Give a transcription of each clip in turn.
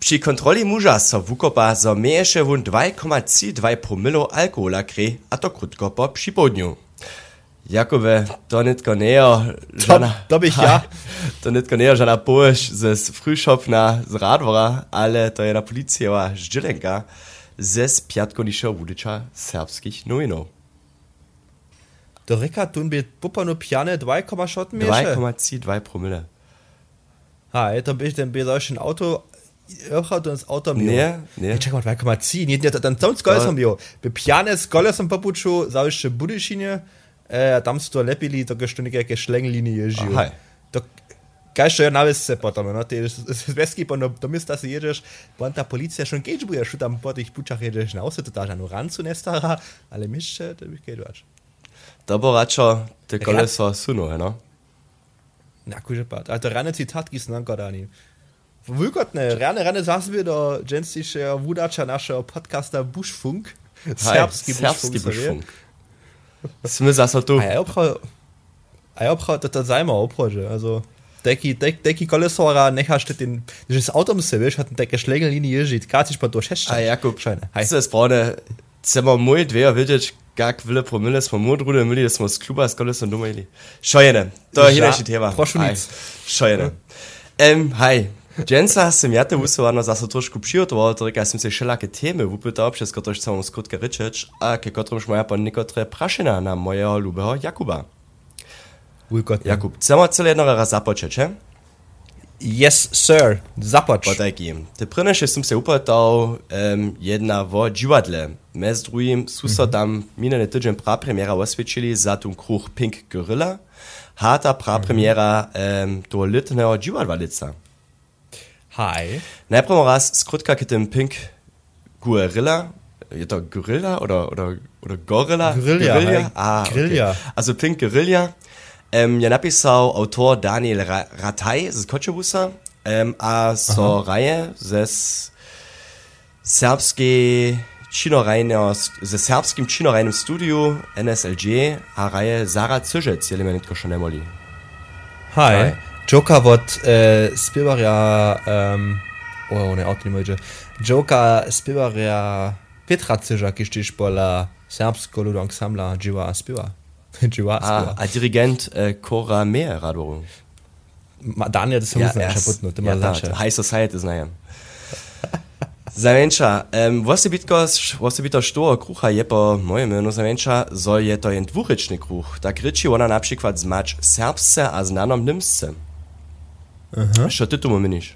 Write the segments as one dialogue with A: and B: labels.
A: Při kontroli muža so wukopa zo mieješe wun 2,2 promilo alkohola kre, a to krótko po připołdniu. Jakowe, to nitko nejo žana...
B: To bych ja.
A: To nitko nejo žana połež ze Frühschopna z Radwora, ale to je na policija Ždzilenka ze spiatkonišeho wudyča serbskich nowinów.
B: To reka tun bi popano pjane 2, šot mieješe.
A: 2,2 promile.
B: To bych ten bi solchen Auto... Öchert ins Auto
A: Nee.
B: Czekaj, 2,3. Nie, ten tam z kolesom bio. By pjane z kolesom popuču, zawieszcze budyšinie, tam sto lepili, to gestunike jakie šlenglinije ježiju. To kažto je navisce potom, no, ty zveski po do mista si jedziesz, bo ta policja schon gejcz buja, što tam po tych pučach jedziesz na ose, to ta žanu rancu nestara, ale mišće, to bych gejčovač.
A: To bo račo te koleso suno, no?
B: Na kuže pat, ale to rane citatki snanko dani. Wulkotne, rane zasby do dżęstische wudača naszego podcasta Buschfunk.
A: Serbski Buschfunk. Sme zase tu.
B: A ja obchod, to zajma obchodže. Also, deki kolesora nechaš ten, že s autom se vieš, hat deke šlegelini ježit, katiš pa to šešča.
A: A Jakub, se je správne, chcemo môj dveja vidieť, kak vile promile smo modrude mili, da smo z kluba s kolesom doma ili. Šojene, to je hineši tema. Šojene. Dženca sem ja te vusovano zase trošku přijotoval, torika sem se všelake teme vupytal, přes ktož chcem vám skutke ryčeč, a ke kotrom šmoja pa nekotre prašena na mojeho ľubého Jakuba. Jakub, chcemo celé jednoho raz započeć, he?
B: Yes, sir. Započ.
A: Potajki. Te prneše sem se upytal jedna vo dživadle. Mez drugim su so tam minene tydzień prapremiera osvědčili za tu kruh Pink Gorilla, hata prapremiera do litného dživadvalica.
B: Hi.
A: Najprv raz skrótka k tym Pink Gorilla. Je to Gorilla oder Gorilla?
B: Gorilla.
A: Okay. Also Pink Gorilla. Je napisał autor Daniel Rataj z Koczebusa, a so raje ze serbskim činorajnym studiu NSLG a raje Zara Cyżec, jeli me nitko še nemoli.
B: Hi. Joker od spievaria ne auto nie może. Joker spievaria Petra Cyża, kisztyż pola serbsko ludu ansambla Dziwa spieva.
A: A dirigent Cora Meer radoru.
B: Daniel das muss ja kaputno, to ma znaczy.
A: High Society znajem. Zavenča, vostě by to što kruha je po mojemu, no zavenča, zo je to jen dvurečný kruh. Tak ryči ona například zmač serbsce a znanom nimsce. Što ty tomu miniš?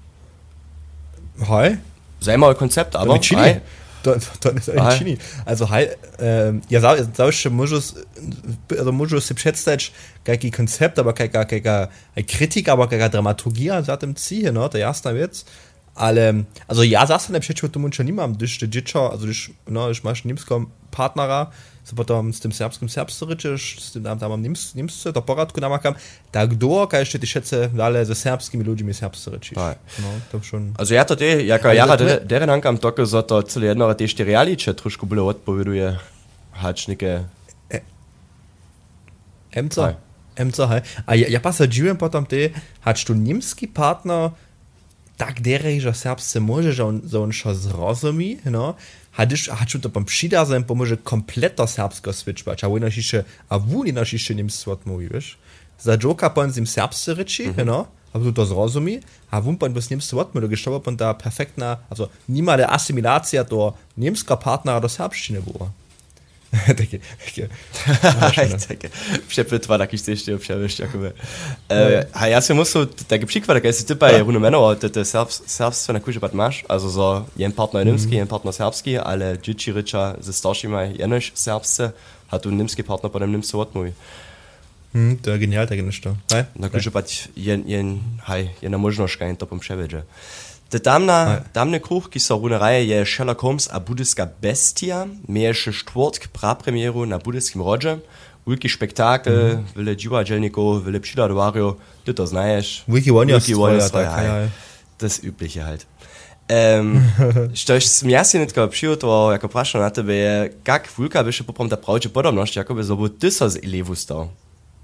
B: Hej.
A: Zajímavý koncept, aber
B: hej. To jest eigentlich Chini. Also ja zawsze możesz si przedstawić jaki koncept, aber jaka Kritik, aber jaka dramaturgia za tym cie, no, to jasna věc. Ale, also ja zase ne przecież to munča nimam, když ty dziecko, also když máš nimską partnera, so potom s tym serbsce ryczysz, z tym tam nimsce, to poradku namakam, tak do, kaj jeszcze ty šece dalej ze serbskimi ludźmi serbsce ryczysz. No, to schon.
A: Also ja to ty, jaka jara deren ankam toko, so to cele jednore ty ještě realiče trošku byle odpowieduje hačnike.
B: Emco, hej. A ja pasadziłem potom ty, hač tu nimski partner, tak derej, že serbsce može, že on šo zrozumí, no, hač to pom přidazem pomôže kompletno serbsko switchbać, a vůni našiše nimstvo odmluví, vieš? Za Joka pon zim serbsce ryči, no, a tu to zrozumí, a vůn pon bez nimstvo odmluví, geštobo pon ta perfektna, also nimale asimilacija do nimska partnera do serbštiny buvo. Takie.
A: Przepytwa takiś coś jeszcze przewyższ, jakoby. A ja się muszę, taki przykład, jak ty bei Runomeno, te serbstwo na kurze masz, also so, jen partner nimski, jen partner serbski, ale dzieci rycza ze starszymi jenoś serbsce, a tu nimski partner potem nimsko odmówi.
B: To je genial, tak jest to.
A: Na kurze pat jedna możność, kaj to pom przewiedzie. Te tamne kruh, ki so runereje, je Sherlock Holmes a budyska bestia, mieješe štvrtk prapremieru na budyskim rodže, veliki spektakel, vele dživadelnikov, vele přidadovarjo, ty to znaješ.
B: Wiki Wonja,
A: das Übliche halt. Štož sem ja si netko přijutoval, jako prašal na tebe je, kak vulka biše poprom ta pravče podobnosť, jako by zobu ty so z elevu stal.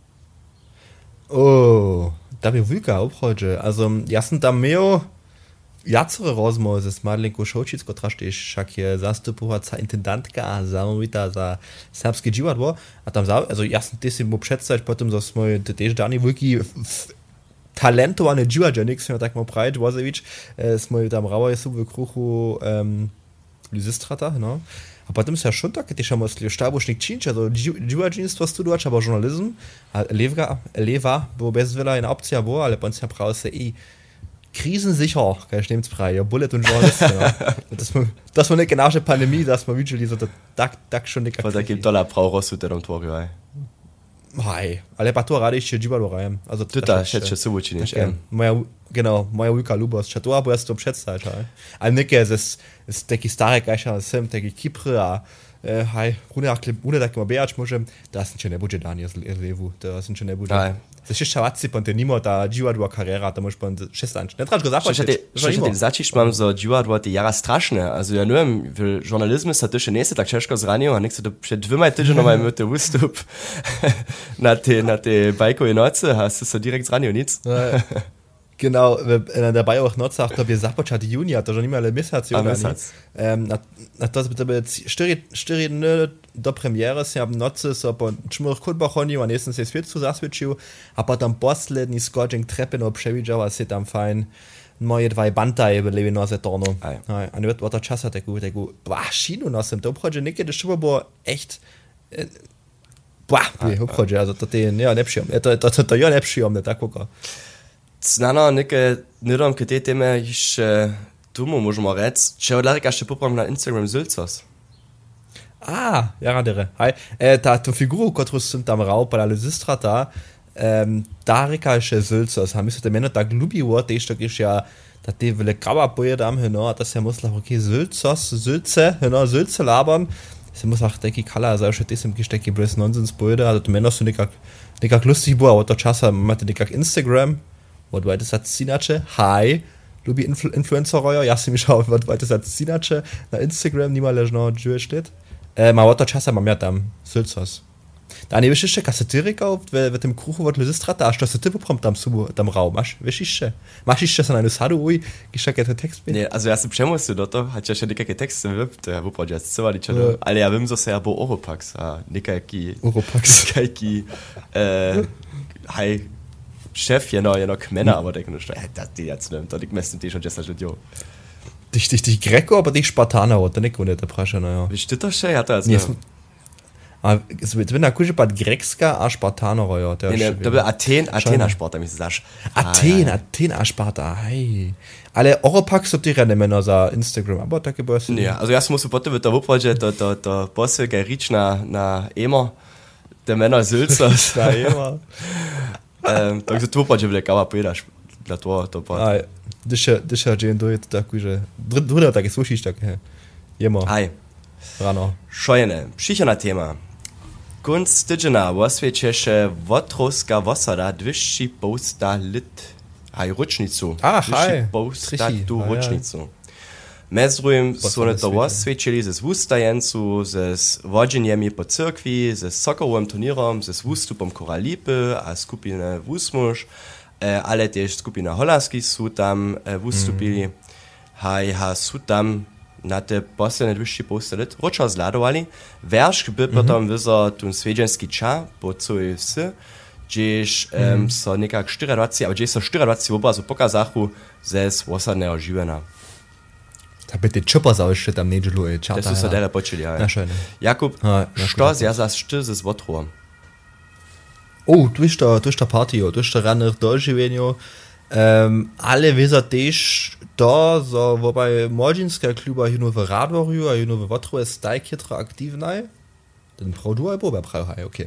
B: Da bi vulka obchodže, also ja sam tam meo, jacere rozmowy z Madlenką Šolčicko trašteš, však je zastupovaca intendantka Samovita za serbskie dziwadło, a tam also jasno ty si mu przedstawić potem, że smo też dani wielki talentowany dziwadże, nikt się tak mal breit, Wozewicz, smo tam rauer jest w kruchu Lysistrata, no. A potem se ja schon tak, ty šamo sli štabušnik činč, also dziwadzinstwo studować, aber journalism, a leva, bo bez wiele jedna opcja było, ale potem se brał se krisensicher, kann ich nehm's frei, ja, Bullet und Journalist, ja. Das war nicht genau die Pandemie, dass man wirklich so tak schon nicht
A: aktiv. Da gibt $1 raus mit dem Tor, ja.
B: Hej, ale pa to radi ešte dživalo rajem.
A: Tuta, šeće se uči nič.
B: Moja Vujka Lubos, če to bo jaz to predstaviti, hej. Ali nekaj z taki stare kajša, sem taki Kipre, a hej, une tako bejač možem, da sem če ne bude dan jaz levu, da sem če ne bude. Se še šavaci, pa te nimo ta dživadva kariera, da moš pa šestanč. Ne trač go započeti.
A: Še začiš mam za dživadva ti jara strašne, also ja neviem, v žurnalizmu sa to še nese tak češko zranil, a nek se to před 2 týdžinoma imate ústup na te bajkové noce, a se direkt zranil, nic.
B: Genau, in der Bayerich Nordsacht, da wir započati junija, to že nima le mesec. Na to bi tebe 4 dny do premiere se ab nocy so po čmurch Kutbachoniu, a nesem se sviet zasviečil, a potom posledný skočing trepeno przewidział, a se tam fajn moje 2 bantaje byli na zetorno. A nie od czasa taku, šinu nosem, to obchodzi niekedy szybo było echt obchodzi, also to ty nie przyjemne, to ja nie przyjemne, tak kuka.
A: Znano neke nidom ke te teme iš tumu možemo reći, če odlarika še popram na Instagram Zülcos.
B: Ja radere. Hej, tu figuru, kotru sem tam rao pa la Lysistrata, da reka še Zülcos, a mislim, da mene tak ljubivo, tež tak iš ja, da te vele graba pojedam, no, da se musla, okay, Zülce labern, se musla taki kala, also še te sem ki šteki brez nonsens pojede, also to mene so nekak lustig bo, a od to časa imate nekak Instagram, od weiter Sinace, hi, lubi influencer-roja, ja si mi šao, od weiter Sinace, na Instagram, nima ležno džuje štet. Ma od to časa mam ja tam Zülcos. Da ne wiesz jeszcze kasetyrika w tym kruchu od Lysistrata, a što se ty poprom tam rau, wiesz jeszcze? Masz jeszcze so eine sadu, ui, gišake te tekst bin?
A: Ne, also ja sam přemusil do to, hat ja še nekake tekste vypt, wuprođe, ja se vali čelo, ale ja vím zase ja bo Oropax, a nekaki...
B: Oropax.
A: Nekaki, hej, Chef, jeno kmena, aber der kann nicht, die jetzt nimmt, die messen die schon gestern studio.
B: Dich Greco, aber dich Spartaner, oder nicht, ohne der Prasche, naja.
A: Wie steht das schon, hat er also?
B: Es wird na kuže pat Grekska a Spartaner, ja.
A: Da will Athena Sparta, mi se znaš.
B: Athena Sparta, hej. Ale Oropax so ti Männer za Instagram, aber tako bo se.
A: Ja, also jaz musím potom to wuprođe, to posel kaj rič na Emo, der Männer Zülcos.
B: Na Emo.
A: Takže to wuprođe vele kava pojedaš, dla to pa.
B: Dyša džen dojete tako, že druga tako slušiš tako, Jemo.
A: Aj.
B: Rano.
A: Šojene, přichana tema. Kunst tydžena osvědčeše Wotruska Vosada 2,5 lit. Haj, ročnicu.
B: Haj.
A: 2,5 tu ročnicu. Mezrujem so ne to osvědčili ze zwustajencu, ze vodženjemi po cyrkvi, ze sokovým turnierom, ze wustupom Koralipy a skupine Wusmuš, ale też skupina Holandskich su tam wustupili. Haj, su tam na te posledne 2,5 lit ročo zladovali. Veršk by potom vyzor tun svedženský ča po celej vsi, gdzieś so nekak 24, ale gdzieś so 24 obrazu pokazachu ze osadného živena.
B: Da bitte Chopper sau jeszcze tam nedželu čata.
A: To su so dele počeli, ja. Jakub, što zjazaš ty ze Wotruom?
B: Durch der Party, durch der rannych doživenju, ale wiedzą też to, so wobei młodzieńska kluba hino w Radworju, a hino w Wotru jest tajkietra aktywna. Ten produkt albo hej, okej.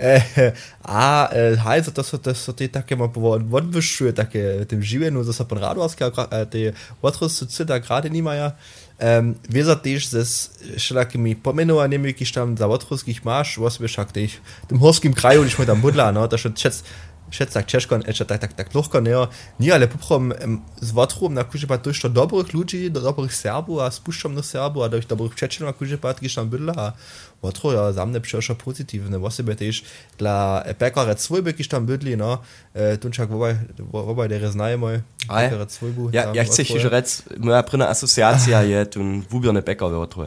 B: Hej, to są te takie ma odwyższuje takie tym żywieniu, że są pan Radworska, te Wotru są da gerade nie mają. Wiedzą też ze wszelakimi pomenowanymi, jakieś tam za Wotruskich masz, was wiesz, jak tym horskim kraju, gdzieś tam budla, no, to się Schätz tak ciężko, tak lochko nie, ale poprom z Watrum na kuźepat dość to dobrych ludzi, dobrych Serbów, a spuszczam na Serbów, a dość dobrych przyjaciół na kuźepat, gdzieś tam bydla, a Watru ja za mnie przecież pozytywne, właśnie też dla Pekare Zwojby, gdzieś tam bydli, no, tunczak wobaj der znajemy, Pekare Zwojbu.
A: Ja chcę się rzec, moja prynna asocjacja je tun wubierne Bäcker w Watru.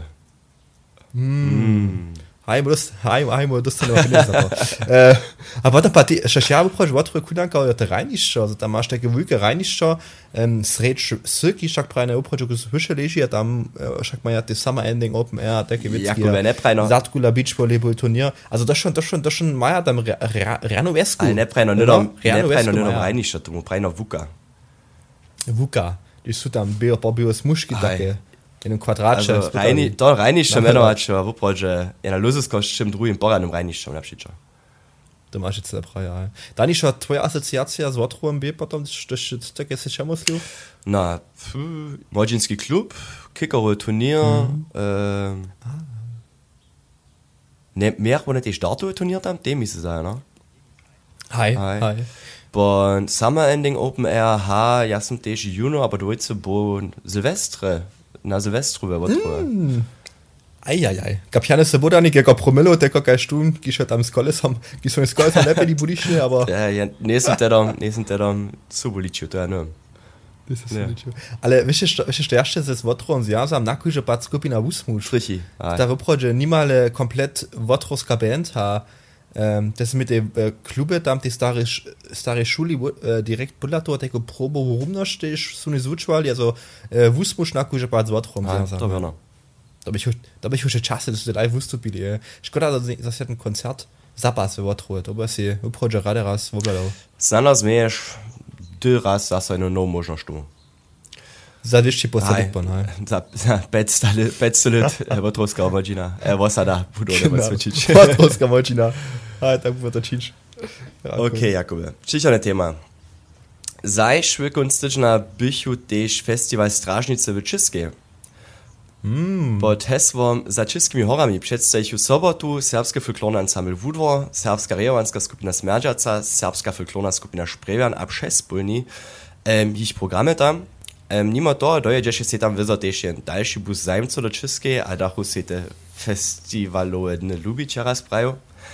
B: Hajmo, dostanę a potem pa ti, še ja upraš Watru kudanka, ale te rajniščo, also tam masz takie wujke rajniščo, sreč syki, šak pravi ne upraš, ko se vyše leži, a tam šak maja te summer ending open air, takie witzki, Zadkula Beach Volleyball Turnier, also das schon maja tam Rano Vesku.
A: Ale ne pravi ne dom rajniščo, tomu pravi no
B: Vuka, die su tam bio smuški takie. In einem Quadratchen.
A: To rajnišče menovačo, v uprođe, je na Luzesko s čim drugim poradnom rajniščom napšičo.
B: To masz jetzt lepra, ja. Da nicht schon twoja asociacja z Watruem B, potom też takie się czemu slił?
A: Na, Młodzieński klub, kickerowe Turnier, ne, mehr wo nicht die Startowe-Turnier tam, dem ist es ja, ne?
B: Hi.
A: Bon, Summer Ending Open Air, ja sam też Juno, aber du willst bo Silvestre, na Silvestru we Watru.
B: Ajajaj. Kapiane se boda nekega promilo, teko kaj štum, ki še tam s kolesom lepe di budišne, aber...
A: Ja, nisem tedom subuličil, to je no.
B: Ale wiesz, to jeszcze ze Watru związam na kujże pat skupina Wusmusz.
A: Frichi.
B: Da wyprowadzi niemale komplet Watrowska band, das mit dem Klube, tam die stare Schule direkt Bullator, teko probo, worum noch stehst, so eine Suchwahl, also Wusmusz na kujże pat Watru związam.
A: To wiano.
B: Da bych už čase, da su daj vystupili. Škoda, da zase ten koncert zapas v Watru, to bi si uprođe rade raz vobledal.
A: Zanas meješ 2 raz zase eno novo možnost tu.
B: Za višći posadek pa, ne?
A: Za 500 let Watrovska močina. Vosada budu nema svičić.
B: Watrovska močina. Tak bude to čić.
A: Ok, Jakube. Čičane tema. Zajšve konstična bychu tež festival Stražnice v Českej. Pod hesłom Za Českými horami przedstawił sobotu serbskie folklorne ensemble Wudwo, serbska rejowanska skupina Smerdżaca, serbska folklorna skupina Szprewian a przespólni ich programy tam. Mimo to dojedzie się tam wyzo też jen dalszy bus zajmco do Českej, a dachu se te festivalowe dny lubić raz prajo.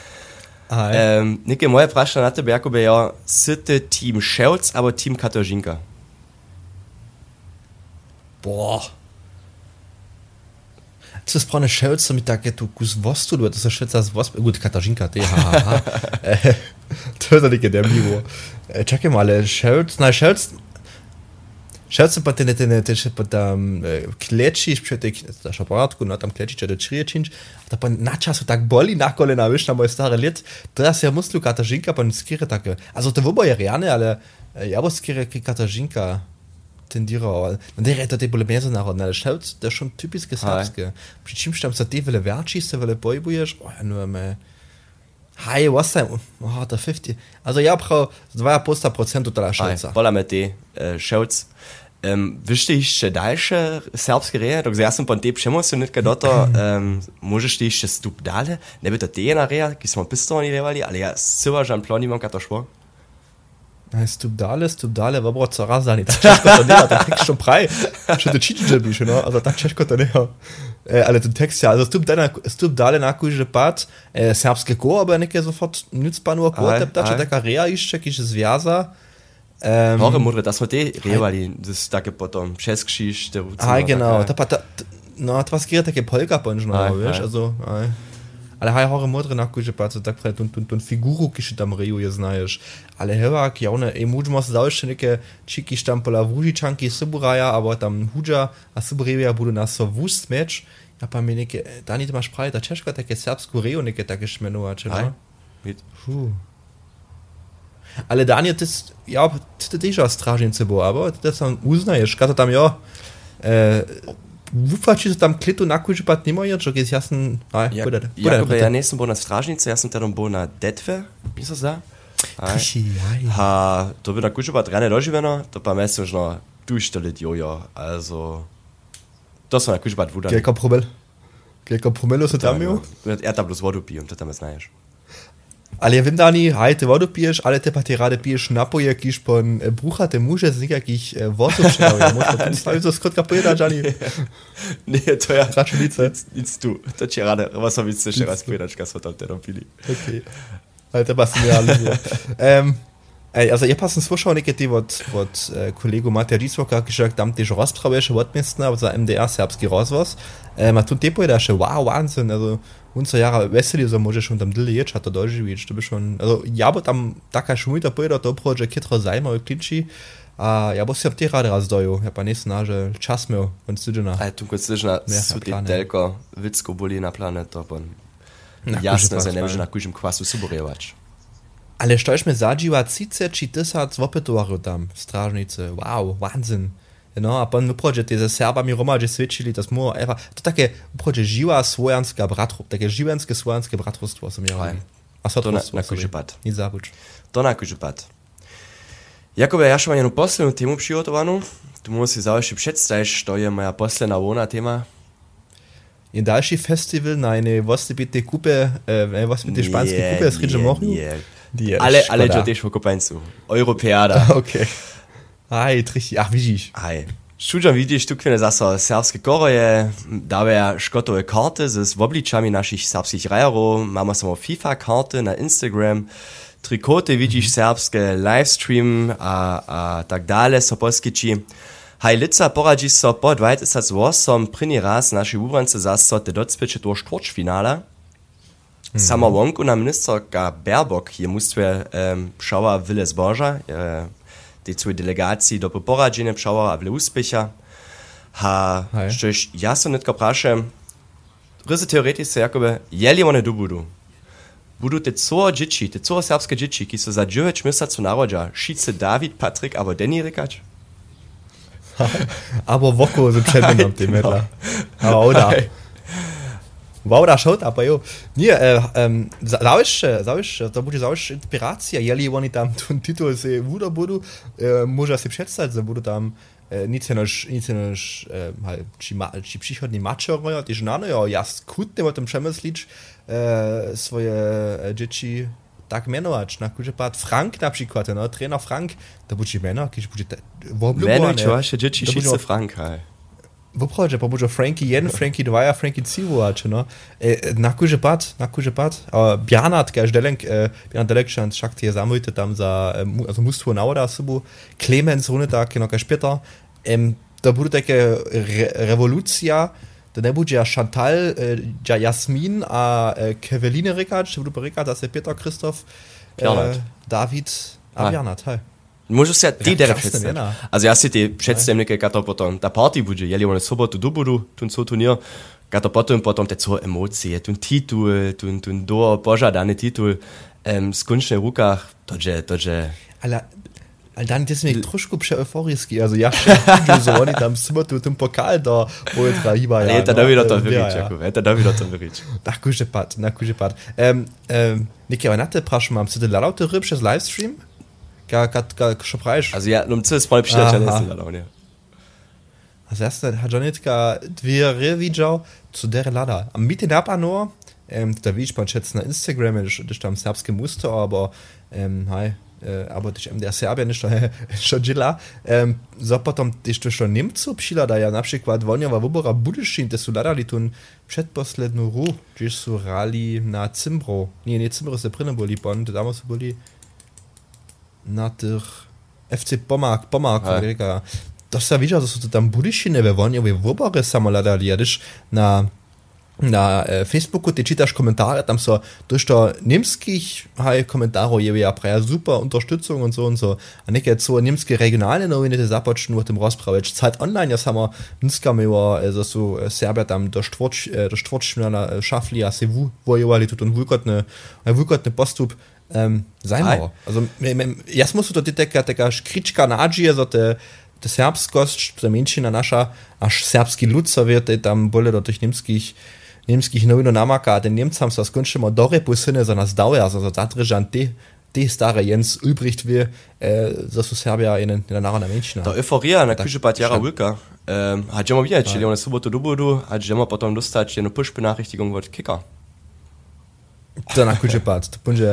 A: Nike moje prašne na tebe, Jakube, ja, syty Team Ševc, aber Team Katarzyna.
B: Boah. To jest prawie Ševc, mi takie tu kus wostu, to jest Šveca z wostu, gut, Katarzyna, ty, to jest takie demniwo. Czekaj mal, ale Ševc pa tam klečiš, da šaparatku, no tam klečiš, da čriječinč, da pa na času tak boli na kolena, viš, na moje stare let, teraz ja muslu Katarzyna, pa skire takie, also to wobo je reane, ale ja bo skire Katarzyna tendiral, no der to te bole međunarodne, ale Ševc, to je schon typiske serbske, pri čim tam sa te vele verči, se vele bojbuješ, no me, was time, da 50, also ja brauch 2% tala Ševca.
A: Bola me te Ševc. Wište jeszcze dalsze serbskie reje, dok ja sam po tej przemocjonetka do to, możesz ty jeszcze stup dalej, nie by to te jedna reja, ki smo pistovani revali, ale ja syła żan ploni mam kato szło.
B: Stup dalej, wobro co raz dani, tak ciężko to nie, ten tekst schon praj, schon to czytać bisz, no, also tak ciężko to nie, ale ten tekst ja, also stup dalej na kujże pat, serbskie koło, aber nie sofort nutzpanu koło, tepta, taka reja jeszcze, jakiś związa,
A: Hore modre, das war die Revali, das takie potom Českisch, der
B: genau, to skierat takie polka-punch, no, wiesz, also, ale hore modre na kujże pat, tak prawie ton figuru, kiszy tam reju je znajesz, ale hewak, ja one, możesz zawsze neke čiki tam pola Vužičanki, Suburaja, aber tam Hudža, a Suburevia budu nas so wust mecz, ja pa mi neke, da nie masz prawie, ta Češka takie serbsku reju neke takie šmenovače, no? Ale Daniel, das, ja, to też jest strażnicy było, aber das tam uznajesz, kada tam, ja, wufači tam klitu na kujži pat nimajo, čo je jasno,
A: ja nisam bo na stražnici, ja sam tedom bo na detve, misliš da? To bi na kujži pat rane doživeno, to pa mesliš no, duštelit jojo, also, to sam na kujži pat vudan.
B: Kelka promelo se tam jo?
A: Ja tam plus vodu pijem, to tam znaješ.
B: Ale ja wiem, Dani, hej, ty wodu piješ, ale ty pa ty rade piješ napoje, kiž pon bruchate muže z nekakých vozov šedajú. Možno tu stavím to skrotka pojeda, Gianni.
A: Nie, to ja...
B: Računice.
A: Nic tu. To ci rade, was hab ich jeszcze raz pojedačka, co tam teda pili.
B: Okay. Ale to passt mir alles. Also ja passen slušao neke ti od kolegu Matija Džisvoka, ki že tam tež rozprave še odmestna za MDR serbski rozvoz. A tu te pojeda še wow, Wahnsinn, also unser Jahre veseli, so może schon tam dyle ječ, a to doživič, to by schon, also ja bo tam taka šmujta pojeda, to prođe kitro zajma u klinči, a ja bo se te rade razdoju, ja pa nesna, že čas meu, on stuđena.
A: A tu kod stuđena su ti telko vicko boli na planet, to bon jasno se ne može na kužim kvasu suborevač.
B: Ale štož me zadživa 30 či 1000 opetovarov tam, stražnice, wow, Wahnsinn. No, a pan uprođe te za Serbami romađe svičili, to smo, to takie uprođe živa svojanska bratru, takie živenske svojanske bratrstvo sam ja. A sad
A: to na kuži pad.
B: Nic zabuč.
A: To na kuži pad. Jakobe, ja šel vam jednu poslednju temu přigotovanu, tu mu si završi představiš, to je moja posledná volna tema.
B: In další festival na jednej vostebitej kupe, vostebitej španskej kupe, sridže mohnu?
A: Ale čo tiež v Kopańcu. Europeada.
B: Okay. Aj, trichty, ach, widzisz.
A: Aj. Šuđam vidiš, tu kvene zasa serbske koroje, dawe škotove karte z obličami našich serbskich rajerov, mamy samo FIFA karte na Instagram, trikoty widzisz serbske, livestream a tak dalej so poskiči. Haj lica poradzi so po 2008 první raz naši ubrance zasa te docpeče do štvrťfinála. Sama wonku na ministerka Baerbock je mustve pšała wyle zboża, tej swojej delegacji do poporadzenia pšała a wyle uspecha. Szczęś ja so netko praszę, ryzy teoretyce jakoby, jeli one du budu te co dzieci, te co serbskie dzieci, ki so za 9 miesięcy narodzia, šice David, Patryk, albo Denny rykać?
B: Aber woko so przemieniam tym medla. Aber oder. Wow, da schaut aber jo. Nie, zawisz, to będzie zawisz inspiracja, jeli oni tam ten tytuł se wuda budu, może się przedstawić, że budu tam nic noż ci przychodni maczoroja, też nano, ja skutnie o tym przemyslić swoje dzieci tak mianować, na kurze pat Frank na przykład, no, trener Frank, to będzie miano, jakiś będzie
A: Mianować wasze dzieci šice Frank,
B: Wyprowadź, bo może Frankie 1, Frankie 2, a Frankie 3 właśnie, no. Na kurze pat. Bernard, Bernard Delek, szak je zamójte tam za, also mustwo nauda sobu, Clemens runde tak, no, später, da bude taka rewolucja, da ne bude Chantal, Jasmin, a Keveline Rikard, da bude Rikard, das je Peter, Christoph, David, a Bernard, hej.
A: Możesz się ty teraz przedstawić. Also ja się ty przedstawiam, kato potom ta party będzie, jeli one sobotu do budu, tun so turnier, kato potom te co emocje, tun titul, tun do pożadany titul, skunczne rukach, toże.
B: Ale dann jest mi troszkę przeeuforyjski, also ja so oni tam sobotu ten pokal da, bo je trahiba.
A: Ale to da wieder to wyrić, Jakub, to da wieder to wyrić.
B: Na kurze pat. Niki, aber natte prašam, mam se laute ryb przez livestream?
A: Also ja, co jest moje przyjaciele, nie?
B: Also erst hat Janitka dwie widział, zu der lada. Am Mitte der nur, da wie ich mal schätzen na Instagram, das tam serbskie Muster, aber aber dich der Serbia nicht schon Gila, so potom dich to schon nimmt so psila da ja na przykład Wonia wobora Budyszin, das su lada li tun przedposlednu ru, gdzieś su rali na Zimbro. Nie Zimbro jest drinne boli bon, da damals boli na tych FC Pomag, Amerika. To se widział, że są to tam budyšine we Wonie, we wobore samoladali, ja też na Facebooku ty czytasz komentarze, tam so durch to niemskich komentarów je ja praja super Unterstützung und so, a nie so niemskie regionalne Nowiny te zapoczną o tym rozprawiać. Zeit online, ja samo nskamy o so Serbia tam do czwartfinala szafli, a se wojowali tu ten wulkotny postup. Zajmo. Also, jas musu to taka škrička nađije za te serbskost, za menšina naša, až serbski lud sovjete tam bole do tih nemskih novino namaka, a ten Nemcam so skončimo dore posine za nas dauje, also za zadržan te stare Jens Ulbricht wie, za su Serbia in narodna menšina.
A: To euforia na kuže pat jara Vulka. Hadžemo vidjeti, čili one sobotu do budu, hadžemo potom dostać jednu push-benachrichtigung od Kicker.
B: To na kuže pat, to punže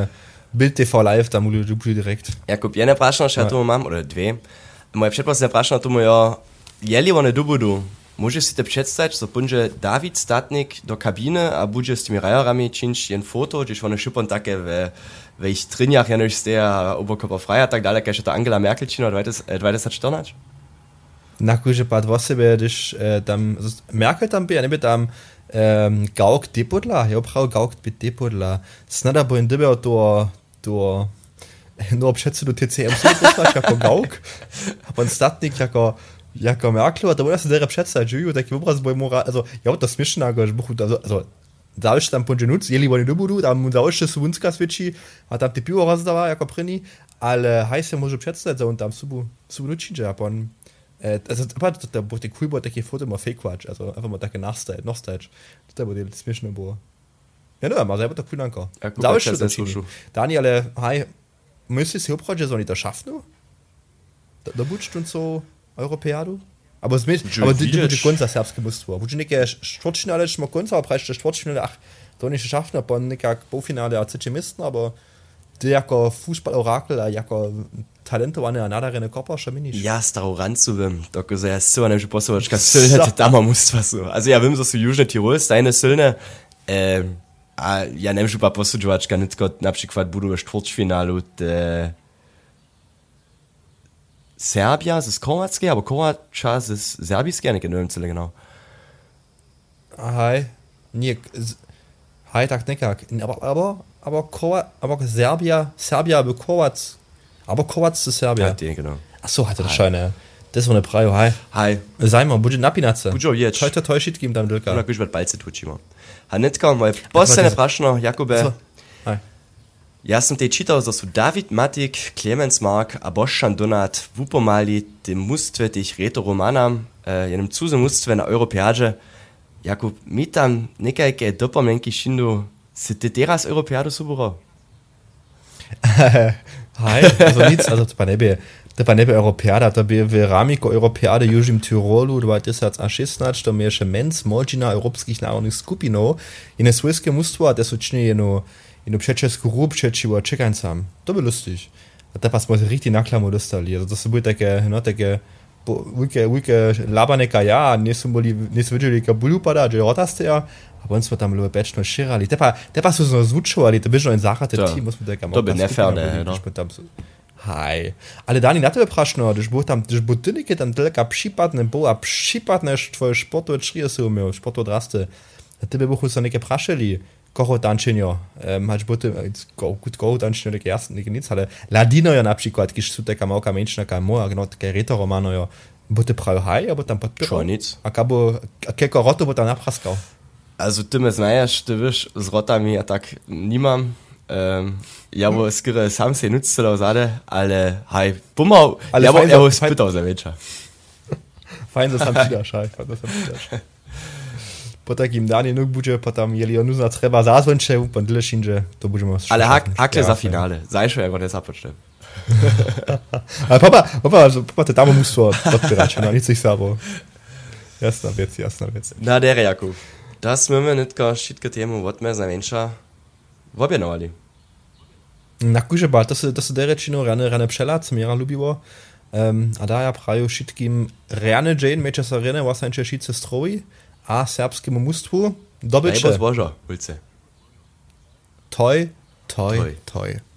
B: Bild TV live, tam du direkt.
A: Jakub, jedne prašno še tomu mam, oder dve. Moje předposledné prašno tomu jo, jeli one dubudu. Můžeš si to představit, že bunže David Statnik do kabiny a bude s těmi rajerami činč jen foto, když one šupon také ve ich trinjach jenož steje a oberkörper frei a tak dále, když je to Angela Merkel čino 2014?
B: Nakuže pát o sebe, když tam Merkel tam by, a neby tam Gauk depodla, jo prav Gauk by depodla. Snada bo in dybe to no předsedu TCM poslać jako Gauk, a pan Statnik jako Merkel, a to bude se dere představit, že jo, taky obraz boj moral, also ja, to smiešne, also zaujšte tam ponže nuc, jeli oni dobudu, tam zaujšte Subunska sviči, a tam ty pivo rozdava jako první, ale haj se može představit, on tam subu nučinže, a pan also da bo die cool takie Foto mal fake watch, also einfach mal takie nachstage da bo die smiešne bo ja no, mal selber da cool anko zaujšte Daniele haj müsste si obchodže so nicht da schaffen da bučst und so Europäadu? Aber es mit, aber die Gunza selbst gemusst war. Wo du nicht Sportfinale mal Gunza preis der Sportfinale ach, da nicht geschafft, aber nicht Bo-Finale als Chemisten, aber der Fußball-Orakel, der Talente waren ja nadarene Kopper schon mini.
A: Ja, staro ranzuwim. Da gesagt, so eine Posovačka Sylne, da man muss was so. Also ja, wim so Južne Tirol, deine Sylne, ja, nemšu pa posuđovačka, nitko na przykład budu v Sportfinale Serbia, es ist Kroatski, aber Kroatia ist Serbijski, nicht genau.
B: Hi, nie, hi, tak nekak, aber Serbia, aber Kroats, ist Serbia.
A: Ja, die, genau.
B: Ach so, hatte das scheine. Das war eine Prio, hi. Sei mal, budget napinace.
A: Budget jetzt.
B: Heute täuscht geben dann Dilka.
A: Oder ich werd bald zu tučimo. Hanitka, moj posledné prašno, Jakube.
B: Hi.
A: Ja sam te čitao, da su David Matik, Clemens Mark, a Bošan Donat vupomali te mustve tih reto romanam, jenem cuze mustve na Europeađe. Jakub, mi tam nekajke dopomlenki šindu, se te teraz Europeadu suburo?
B: Hi, also nichts, also to pa nebe Europeada, to bi v ramiko Europeade južim Tirolu 2016, to mi je še menc možina europskih narodnih skupinov in je svojske mustvo, da so čini jedno przeczesku rób przeczyło czekańcam. To by lustig. A teraz smo se richtig naklamo dostali. Also to se bude takie wujke labaneka ja, nisu vidjeli ka bulju pada, že rotasteja, a on smo tam lube bečno širali. Tepa su se zvučovali, to bi že en zahate ti, musimo tako.
A: To bi neferne, no.
B: Haj. Ale Dani, na tebe prašno, když bo tynike tam delka připadne bo a připadne tvoje sportove črije se umiel, sportove draste. A tebe bohu se neke prašeli. Koho dančenjo, hač bote, gut koho dančenjo neke jasne, neke nic, ale ladino jo například, když su teka malka menšnaka moja, no také retoromano jo, bote pravi haj, abo tam podpiral?
A: Čo nic.
B: A keko roto bo tam napraskal?
A: Also ty me znajaš, ty viš, z rotami a tak nimam. Ja bo skoro sam se nucelo zade, ale haj, bumau, ja bo spytał za večer.
B: Fajn, da sam přidaš, haj, po takim danie nóg bude, potom jeli on uzna treba zázvonče, pan dlešinže, to budeme...
A: Ale hakle za finále, zajšo jako nezapočnem.
B: Ale papa, to tam muselo podpírať, no nic ich sabo. Jasná vec.
A: Na dere, Jakub, da sme me netko všetko tému odme za menša objenovali.
B: Na kuže bal, to se dere čino rane pšela, co mi jara lubiło. A da ja praju všetkým rane Jane, meče sa rene, vlastne šice stroji, a serbskiemu mustwu dobycze.
A: Najbo zbożo, ulce.
B: Toj.